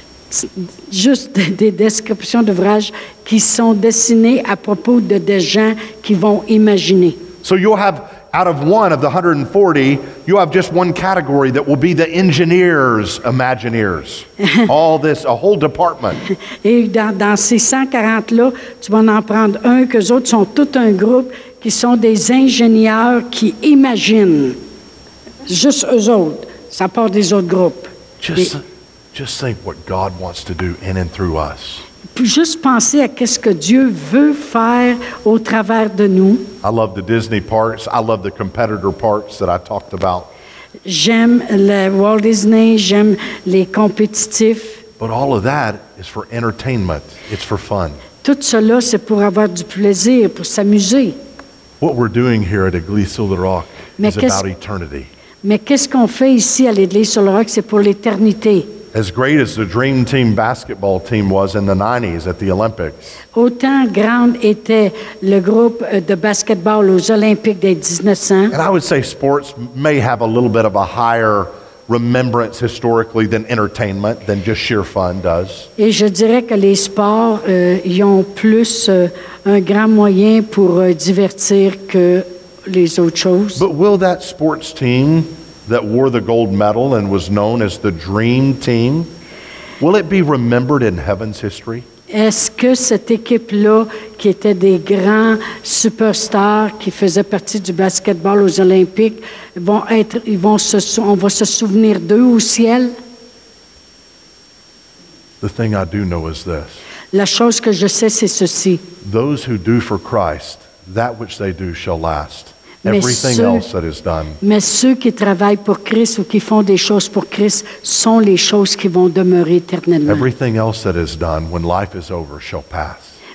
juste des descriptions d'ouvrages qui sont dessinées à propos de des gens qui vont imaginer. So you'll have, out of one of the 140, you'll have just one category that will be the engineers, Imagineers. All this, a whole department. Et dans ces 140-là, tu vas en prendre un, qu'eux autres sont tout un groupe qui sont des ingénieurs qui imaginent. Juste eux autres. Ça part des autres groupes. Just think what God wants to do in and through us. Puis juste penser à qu'est-ce que Dieu veut faire au travers de nous. I love the Disney parks. I love the competitor parks that I talked about. J'aime le Walt Disney, j'aime les compétitifs. But all of that is for entertainment. It's for fun. Tout cela, c'est pour avoir du plaisir, pour s'amuser. What we're doing here at Église sur le Roc Mais is about eternity. Mais qu'est-ce qu'on fait ici à l'Église sur le Roc? C'est pour l'éternité. As great as the Dream Team basketball team was in the 90s at the Olympics, Autant grande était le groupe de basketball aux Olympiques des 1900. and I would say sports may have a little bit of a higher remembrance historically than entertainment, than just sheer fun does. Et je dirais que les sports, ils ont plus un grand moyen pour divertir que les autres choses. But will that sports team that wore the gold medal and was known as the Dream Team, will it be remembered in heaven's history? Est-ce que cette équipe-là, qui était des grands superstars, qui faisaient partie du basketball aux Olympiques, on va se souvenir d'eux au ciel? The thing I do know is this: La chose que je sais, c'est ceci. those who do for Christ, that which they do shall last. Mais Everything ceux- else that is done. Mais ceux qui travaillent pour Christ ou qui font des choses pour Christ sont les choses qui vont demeurer éternellement. Everything else that is done when life is over shall pass.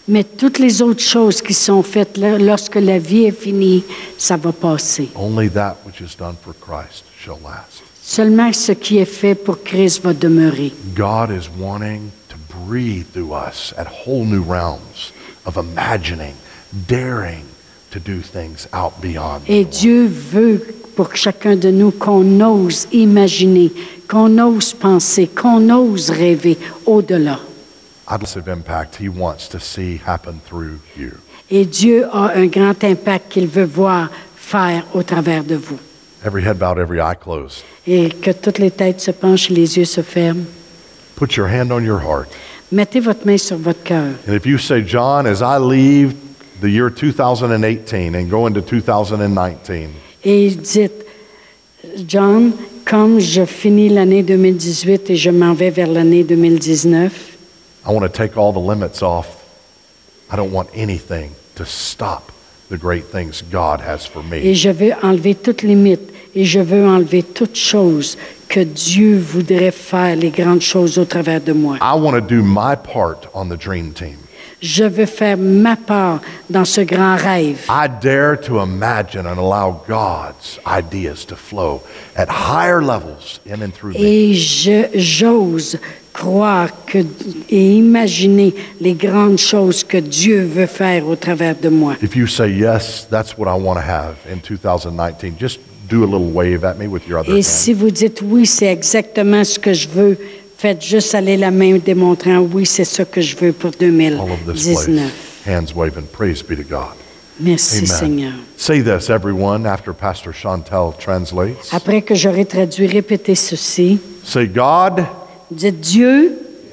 Mais toutes les autres choses qui sont faites lorsque la vie est finie, ça va passer. Only that which is done for Christ shall last. Seulement ce qui est fait pour Christ va demeurer. God is wanting to breathe through us at whole new realms of imagining, daring to do things out beyond. Et Dieu veut pour chacun de nous qu'on ose imaginer, qu'on ose penser, qu'on ose rêver au-delà. Massive impact he wants to see happen through you. Et Dieu a un grand impact qu'il veut voir faire au travers de vous. Every head bowed, every eye closed. Et que toutes les têtes se penchent, les yeux se ferment. Put your hand on your heart. Mettez votre main sur votre cœur. And if you say, John, as I leave the year 2018 and go into 2019, Et dites, John, comme je finis l'année 2018 et je m'en vais vers l'année 2019, I want to take all the limits off. I don't want anything to stop the great things God has for et me. je veux enlever toute limite et je veux enlever toute chose que Dieu voudrait faire, les grandes choses au travers de moi. I want to do my part on the dream team. Je veux faire ma part dans ce grand rêve. I dare to imagine and allow God's ideas to flow at higher levels in and through me. Et j'ose croire et imaginer les grandes choses que Dieu veut faire au travers de moi. If you say, yes, that's what I want to have in 2019, just do a little wave at me with your other Et hand. si vous dites oui, c'est exactement ce que je veux, faites juste aller la main démontrant oui, c'est ce que je veux pour All over this 2019. place, hands waving, praise be to God. Merci Amen. Seigneur. Say this, everyone, after Pastor Chantel translates. Après que j'aurai traduit, répétez ceci. Say, God, Dites Dieu,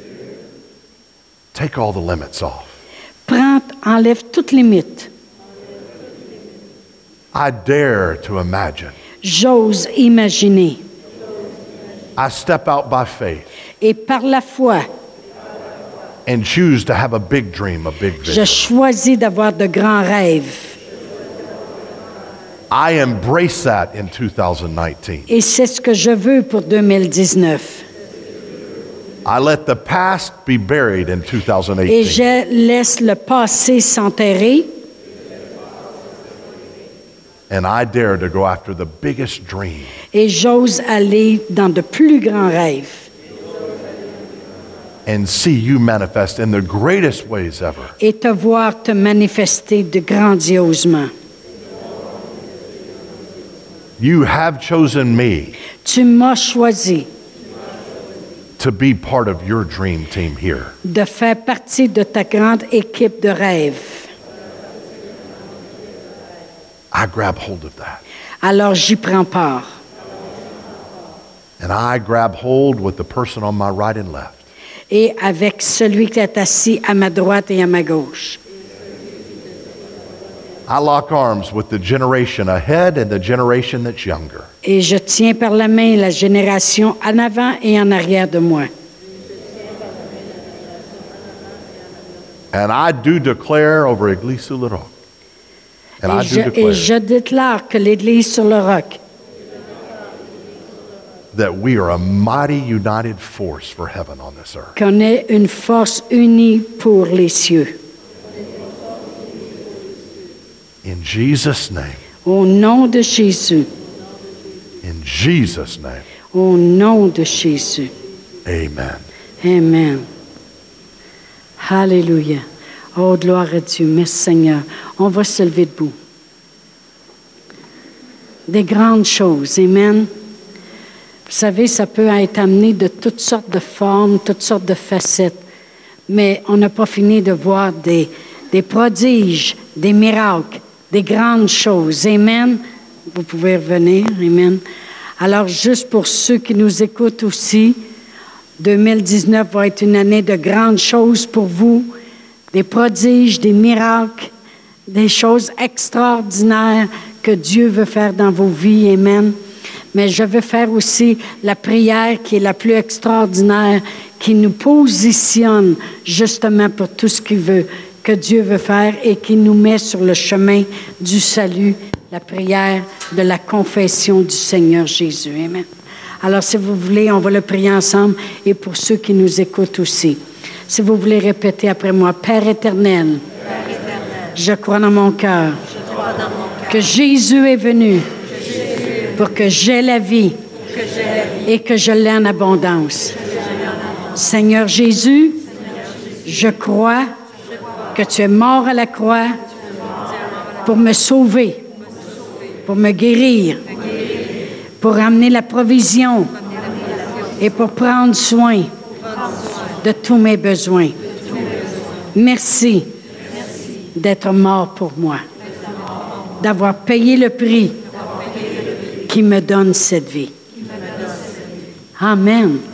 take all the limits off. enlève toute limite. I dare to imagine. J'ose imaginer. I step out by faith Et par la foi, and choose to have a big dream, a big je vision. choisis d'avoir de grands rêves. I embrace that in 2019. Et c'est ce que je veux pour 2019. I let the past be buried in Et 2018. je laisse le passé s'enterrer. And I dare to go after the biggest dream. Et j'ose aller dans de plus grands rêves. And see you manifest in the greatest ways ever. Et te voir te manifester de grandiosement. You have chosen me Tu m'as choisi to be part of your dream team here. de faire partie de ta grande équipe de rêve. I grab hold of that. Alors j'y prends part. And I grab hold with the person on my right and left. Et avec celui qui est assis à ma droite et à ma gauche. I lock arms with the generation ahead and the generation that's younger. Et je tiens par la main la génération en avant et en arrière de moi. And I do declare over Église sur le Roc. And I do Et je declare déclare que l'Église sur le roc, that we are a mighty united force for heaven on this earth. qu'on est une force unie pour les cieux. In Jesus' name. Au nom de Jésus. In Jesus' name. Au nom de Jésus. Amen. Amen. Alléluia. Oh, gloire à Dieu. Merci Seigneur. On va se lever debout. Des grandes choses. Amen. Vous savez, ça peut être amené de toutes sortes de formes, toutes sortes de facettes. Mais on n'a pas fini de voir des prodiges, des miracles, des grandes choses. Amen. Vous pouvez revenir. Amen. Alors, juste pour ceux qui nous écoutent aussi, 2019 va être une année de grandes choses pour vous. Des prodiges, des miracles, des choses extraordinaires que Dieu veut faire dans vos vies. Amen. Mais je veux faire aussi la prière qui est la plus extraordinaire, qui nous positionne justement pour tout ce qu'il veut, que Dieu veut faire et qui nous met sur le chemin du salut, la prière de la confession du Seigneur Jésus. Amen. Alors, si vous voulez, on va le prier ensemble et pour ceux qui nous écoutent aussi. Si vous voulez répéter après moi, Père éternel, je crois dans mon cœur que Jésus est venu pour que j'aie la vie et que je l'ai en abondance. Seigneur Jésus, je crois que tu es mort à la croix pour me sauver, pour me guérir, pour amener la provision et pour prendre soin de tous mes besoins. Merci d'être mort pour moi, d'avoir payé le prix qui me donne cette vie. Amen.